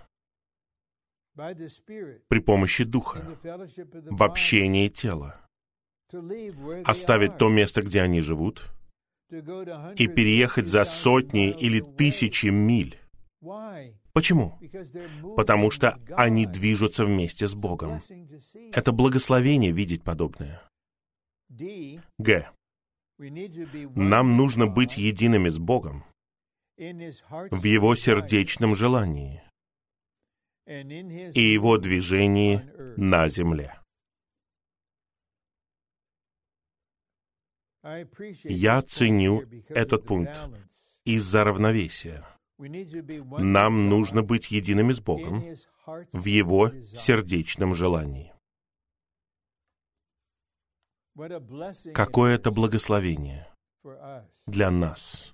при помощи Духа, в общении тела. Оставить то место, где они живут, и переехать за сотни или тысячи миль. Почему? Потому что они движутся вместе с Богом. Это благословение видеть подобное. Г. Нам нужно быть едиными с Богом в Его сердечном желании и Его движении на земле. Я ценю этот пункт из-за равновесия. Нам нужно быть едиными с Богом в Его сердечном желании. Какое это благословение для нас.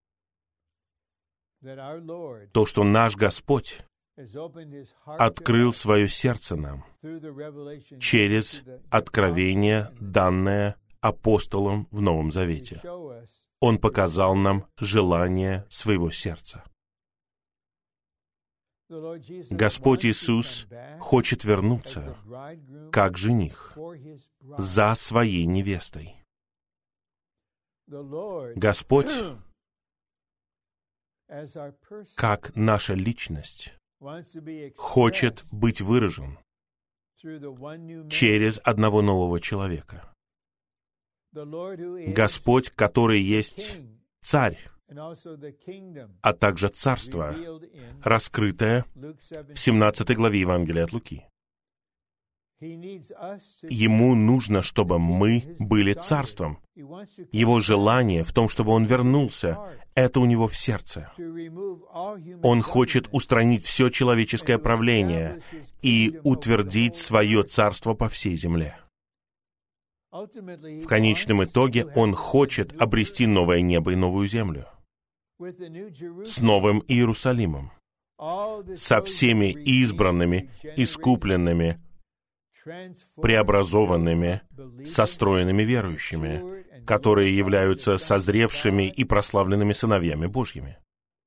То, что наш Господь открыл свое сердце нам через откровение, данное апостолом в Новом Завете. Он показал нам желание своего сердца. Господь Иисус хочет вернуться как жених за своей невестой. Господь, как наша личность, хочет быть выражен через одного нового человека. Господь, который есть Царь, а также Царство, раскрытое в семнадцатой главе Евангелия от Луки. Ему нужно, чтобы мы были Царством. Его желание в том, чтобы Он вернулся, это у Него в сердце. Он хочет устранить все человеческое правление и утвердить свое Царство по всей земле. В конечном итоге Он хочет обрести новое небо и новую землю с новым Иерусалимом, со всеми избранными, искупленными, преобразованными, состроенными верующими, которые являются созревшими и прославленными сыновьями Божьими.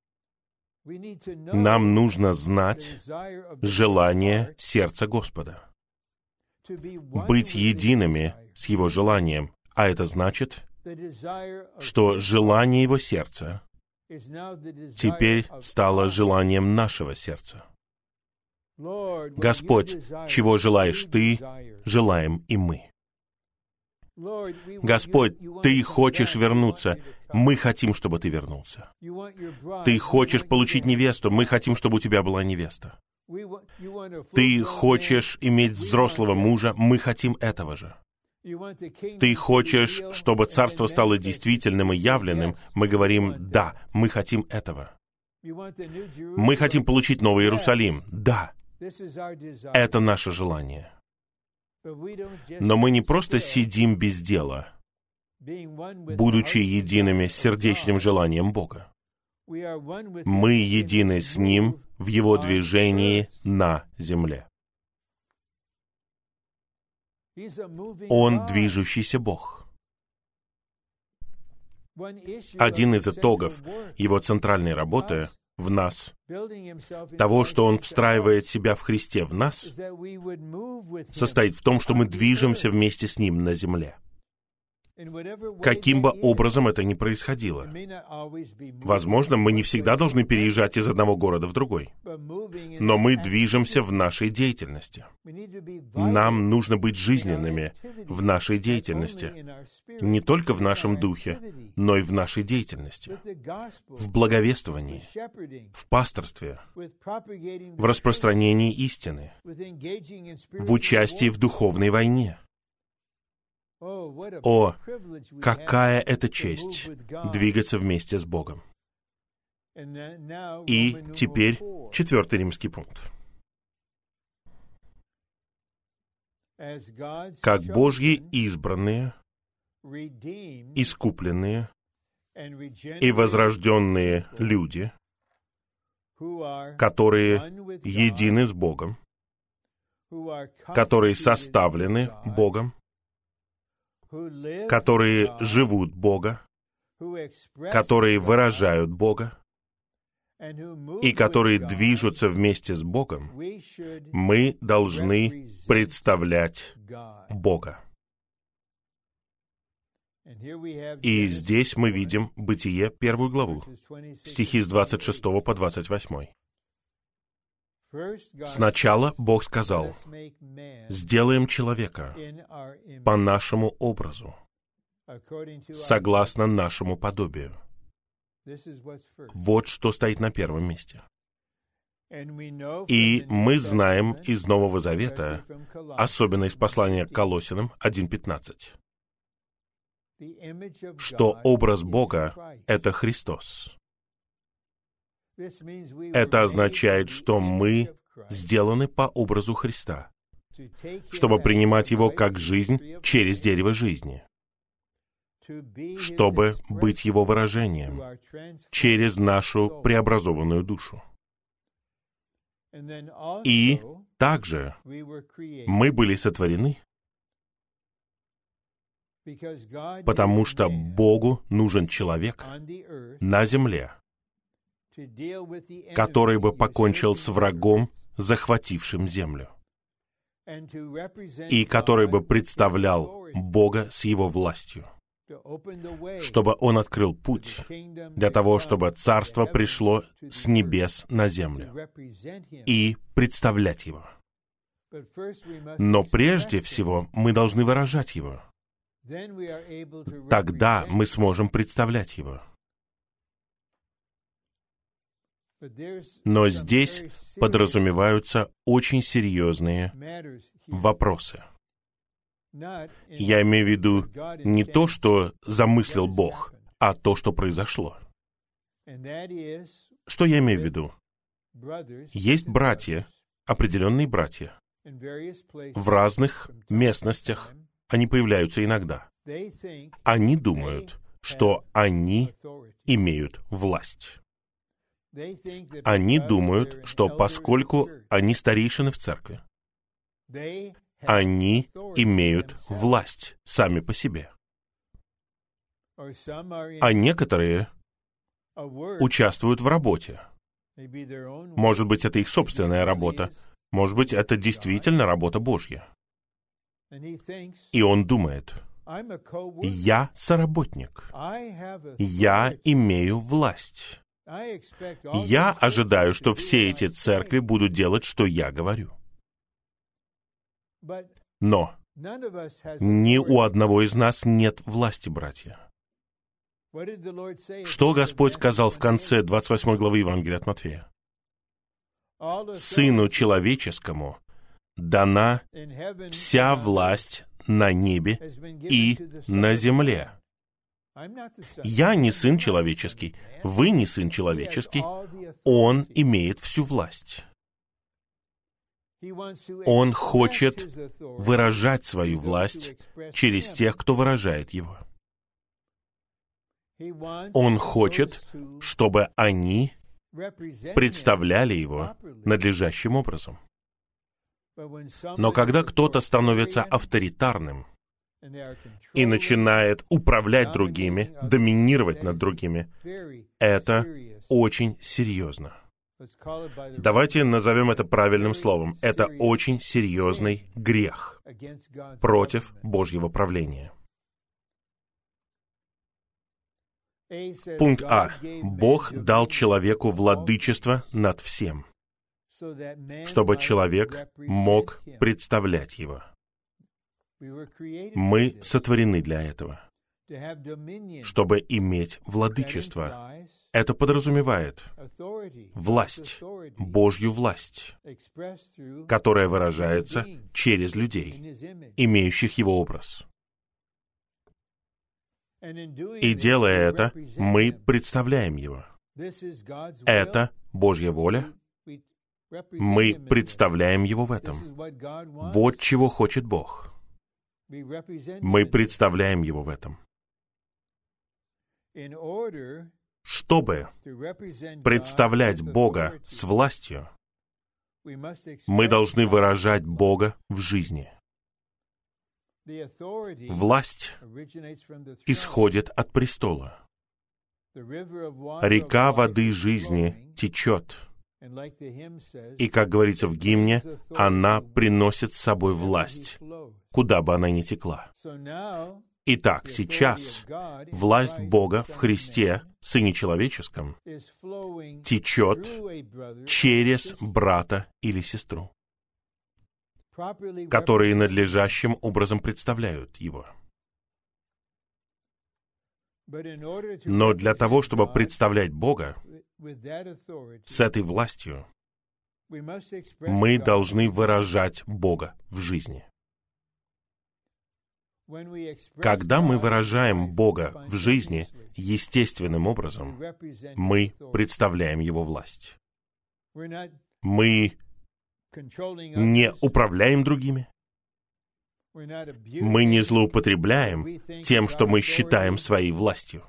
Нам нужно знать желание сердца Господа, быть едиными с Его желанием, а это значит, что желание Его сердца теперь стало желанием нашего сердца. Господь, чего желаешь Ты, желаем и мы. Господь, Ты хочешь вернуться, мы хотим, чтобы Ты вернулся. Ты хочешь получить невесту, мы хотим, чтобы у Тебя была невеста. Ты хочешь иметь взрослого мужа, мы хотим этого же. Ты хочешь, чтобы царство стало действительным и явленным, мы говорим «да», мы хотим этого. Мы хотим получить Новый Иерусалим, да. Это наше желание. Но мы не просто сидим без дела, будучи едиными с сердечным желанием Бога. Мы едины с Ним в Его движении на земле. Он движущийся Бог. Один из итогов Его центральной работы в нас, того, что Он встраивает себя в Христе в нас, состоит в том, что мы движемся вместе с Ним на земле. Каким бы образом это ни происходило. Возможно, мы не всегда должны переезжать из одного города в другой, но мы движемся в нашей деятельности. Нам нужно быть жизненными в нашей деятельности, не только в нашем духе, но и в нашей деятельности, в благовествовании, в пасторстве, в распространении истины, в участии в духовной войне. О, какая это честь двигаться вместе с Богом. И теперь четвертый римский пункт. Как Божьи избранные, искупленные и возрожденные люди, которые едины с Богом, которые составлены Богом, которые живут Бога, которые выражают Бога и которые движутся вместе с Богом, мы должны представлять Бога. И здесь мы видим Бытие, первую главу, стихи с двадцать шестого по двадцать восьмой. Сначала Бог сказал: «Сделаем человека по нашему образу, согласно нашему подобию». Вот что стоит на первом месте. И мы знаем из Нового Завета, особенно из послания к Колоссянам один пятнадцать, что образ Бога — это Христос. Это означает, что мы сделаны по образу Христа, чтобы принимать Его как жизнь через дерево жизни, чтобы быть Его выражением через нашу преобразованную душу. И также мы были сотворены, потому что Богу нужен человек на земле, который бы покончил с врагом, захватившим землю, и который бы представлял Бога с Его властью, чтобы Он открыл путь для того, чтобы Царство пришло с небес на землю, и представлять Его. Но прежде всего мы должны выражать Его. Тогда мы сможем представлять Его. Но здесь подразумеваются очень серьезные вопросы. Я имею в виду не то, что замыслил Бог, а то, что произошло. Что я имею в виду? Есть братья, определенные братья. В разных местностях они появляются иногда. Они думают, что они имеют власть. Они думают, что поскольку они старейшины в церкви, они имеют власть сами по себе. А некоторые участвуют в работе. Может быть, это их собственная работа. Может быть, это действительно работа Божья. И он думает: я соработник. Я имею власть. Я ожидаю, что все эти церкви будут делать, что я говорю. Но ни у одного из нас нет власти, братья. Что Господь сказал в конце двадцать восьмой главы Евангелия от Матфея? «Сыну человеческому дана вся власть на небе и на земле». Я не сын человеческий, вы не сын человеческий, Он имеет всю власть. Он хочет выражать свою власть через тех, кто выражает его. Он хочет, чтобы они представляли его надлежащим образом. Но когда кто-то становится авторитарным и начинает управлять другими, доминировать над другими, это очень серьезно. Давайте назовем это правильным словом. Это очень серьезный грех против Божьего правления. Пункт А. Бог дал человеку владычество над всем, чтобы человек мог представлять его. Мы сотворены для этого, чтобы иметь владычество. Это подразумевает власть, Божью власть, которая выражается через людей, имеющих Его образ. И делая это, мы представляем Его. Это Божья воля. Мы представляем Его в этом. Вот чего хочет Бог. Мы представляем Его в этом. Чтобы представлять Бога с властью, мы должны выражать Бога в жизни. Власть исходит от престола. Река воды жизни течет. И, как говорится в гимне, она приносит с собой власть, куда бы она ни текла. Итак, сейчас власть Бога в Христе, Сыне Человеческом, течет через брата или сестру, которые надлежащим образом представляют Его. Но для того, чтобы представлять Бога с этой властью, мы должны выражать Бога в жизни. Когда мы выражаем Бога в жизни естественным образом, мы представляем Его власть. Мы не управляем другими. Мы не злоупотребляем тем, что мы считаем своей властью.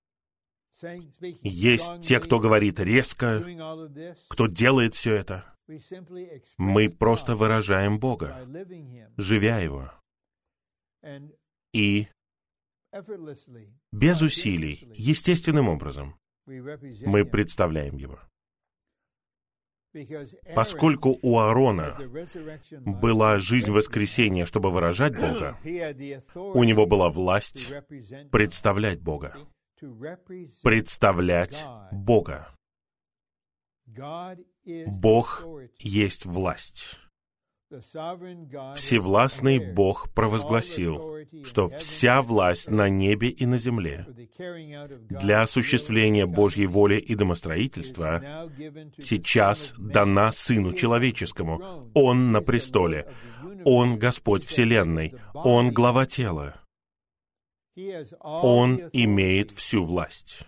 Есть те, кто говорит резко, кто делает все это. Мы просто выражаем Бога, живя Его. И без усилий, естественным образом, мы представляем Его. Поскольку у Аарона была жизнь воскресения, чтобы выражать Бога, у него была власть представлять Бога. Представлять Бога. Бог есть власть. Всевластный Бог провозгласил, что вся власть на небе и на земле для осуществления Божьей воли и домостроительства сейчас дана Сыну Человеческому. Он на престоле. Он Господь Вселенной. Он глава тела. Он имеет всю власть.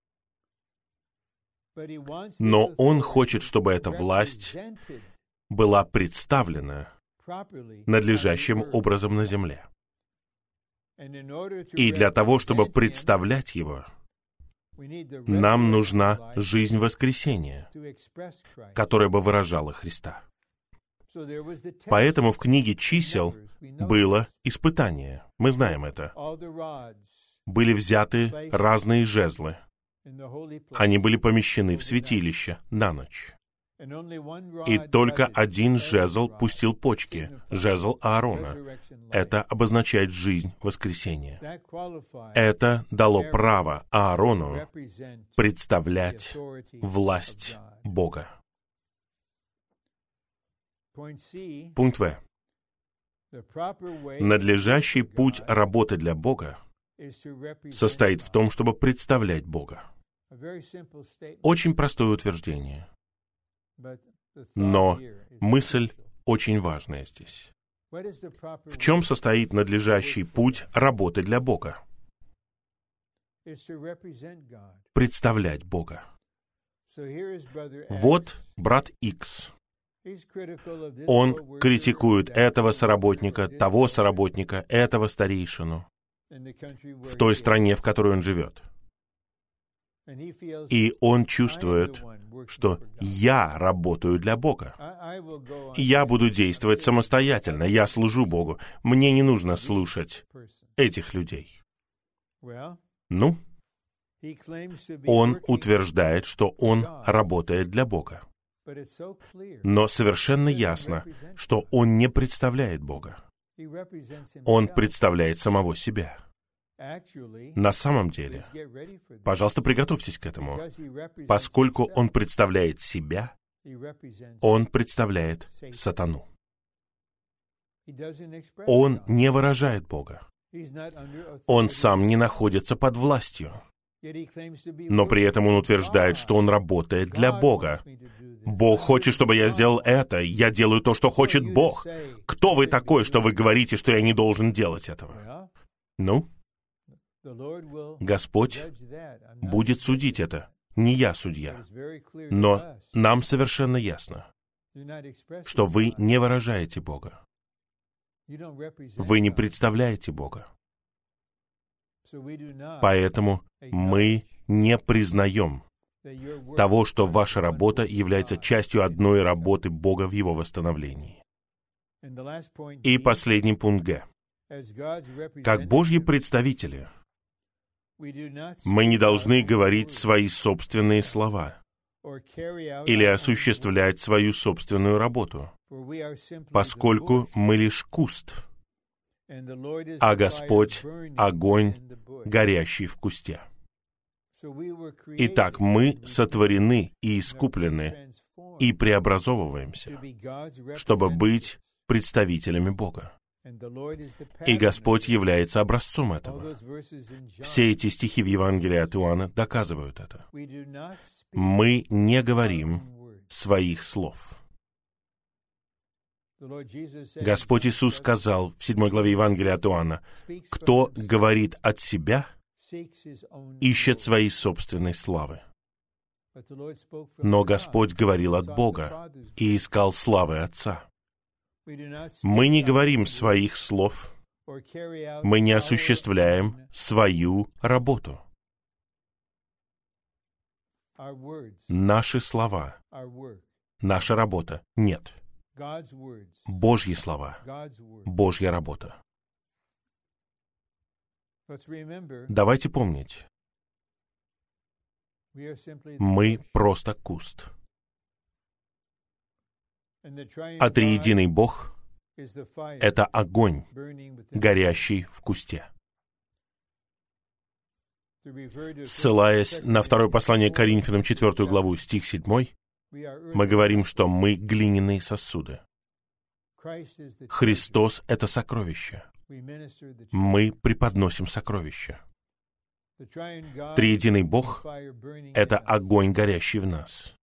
Но Он хочет, чтобы эта власть была представлена надлежащим образом на земле. И для того, чтобы представлять Его, нам нужна жизнь воскресения, которая бы выражала Христа. Поэтому в книге чисел было испытание. Мы знаем это. Были взяты разные жезлы. Они были помещены в святилище на ночь. И только один жезл пустил почки, жезл Аарона. Это обозначает жизнь воскресения. Это дало право Аарону представлять власть Бога. Пункт В. Надлежащий путь работы для Бога состоит в том, чтобы представлять Бога. Очень простое утверждение. Но мысль очень важная здесь. В чем состоит надлежащий путь работы для Бога? Представлять Бога. Вот брат Икс. Он критикует этого соработника, того соработника, этого старейшину в той стране, в которой он живет. И он чувствует, что я работаю для Бога. Я буду действовать самостоятельно, я служу Богу. Мне не нужно слушать этих людей. Ну, он утверждает, что он работает для Бога. Но совершенно ясно, что он не представляет Бога. Он представляет самого себя. На самом деле, пожалуйста, приготовьтесь к этому. Поскольку он представляет себя, он представляет сатану. Он не выражает Бога. Он сам не находится под властью. Но при этом он утверждает, что он работает для Бога. Бог хочет, чтобы я сделал это. Я делаю то, что хочет Бог. Кто вы такой, что вы говорите, что я не должен делать этого? Ну? Господь будет судить это. Не я судья. Но нам совершенно ясно, что вы не выражаете Бога. Вы не представляете Бога. Поэтому мы не признаем того, что ваша работа является частью одной работы Бога в Его восстановлении. И последний пункт Г. Как Божьи представители, мы не должны говорить свои собственные слова или осуществлять свою собственную работу, поскольку мы лишь куст, а Господь — огонь, горящий в кусте. Итак, мы сотворены и искуплены и преобразовываемся, чтобы быть представителями Бога. И Господь является образцом этого. Все эти стихи в Евангелии от Иоанна доказывают это. Мы не говорим своих слов. Господь Иисус сказал в седьмой главе Евангелия от Иоанна: «Кто говорит от себя, ищет своей собственной славы». Но Господь говорил от Бога и искал славы Отца. Мы не говорим своих слов, мы не осуществляем свою работу. Наши слова, наша работа — нет. Божьи слова, Божья работа. Давайте помнить, мы просто куст. А триединый Бог — это огонь, горящий в кусте. Ссылаясь на второе послание к Коринфянам, четвертую главу, стих седьмой, мы говорим, что мы глиняные сосуды. Христос — это сокровище. Мы преподносим сокровище. Триединый Бог — это огонь, горящий в нас.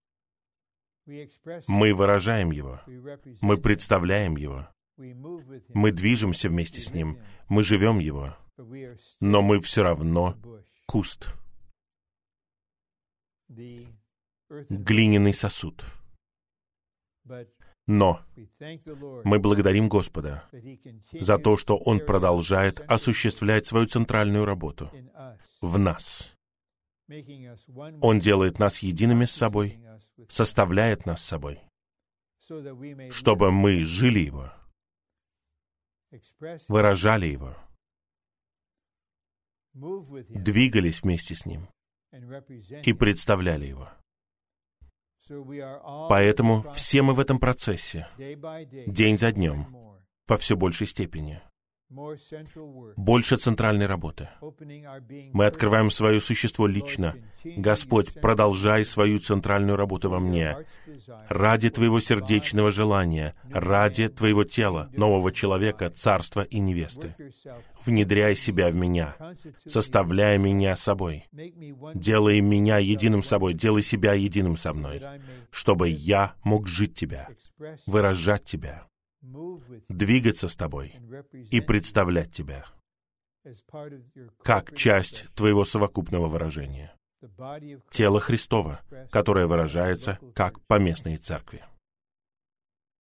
Мы выражаем Его, мы представляем Его, мы движемся вместе с Ним, мы живем Его, но мы все равно куст, глиняный сосуд. Но мы благодарим Господа за то, что Он продолжает осуществлять свою центральную работу в нас. Он делает нас едиными с собой, составляет нас собой, чтобы мы жили Его, выражали Его, двигались вместе с Ним и представляли Его. Поэтому все мы в этом процессе, день за днем, во все большей степени. Больше центральной работы. Мы открываем свое существо лично. Господь, продолжай свою центральную работу во мне. Ради Твоего сердечного желания, ради Твоего тела, нового человека, царства и невесты. Внедряй себя в меня, составляй меня собой. Делай меня единым собой, делай себя единым со мной, чтобы я мог жить Тебя, выражать Тебя, двигаться с Тобой и представлять Тебя как часть Твоего совокупного выражения. Тело Христово, которое выражается как поместные церкви.